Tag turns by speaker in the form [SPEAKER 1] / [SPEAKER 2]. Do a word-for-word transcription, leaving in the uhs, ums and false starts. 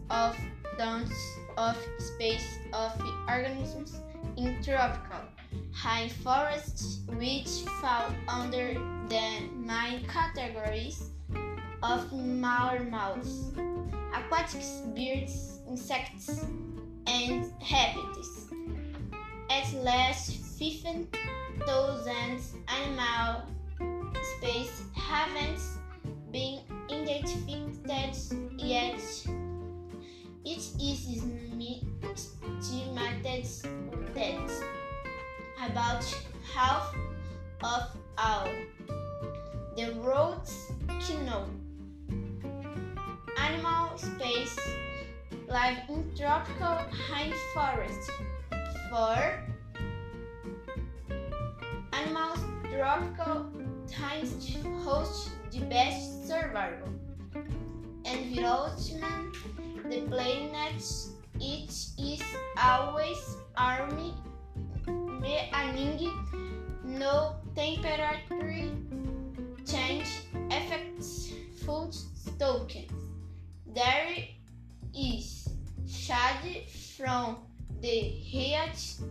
[SPEAKER 1] of tons of species of organisms in tropical rainforests, which fall under the main categories of mammals, aquatic birds, insects, and reptiles. At least fifteen thousand animal species haven't been identified yet. It is estimated that about half of all the world's known animal species live in tropical rainforests. For animals, tropical times host the best survival environment the planet. It is always army, meaning no temperature change affects food stocks. There is shade from the heat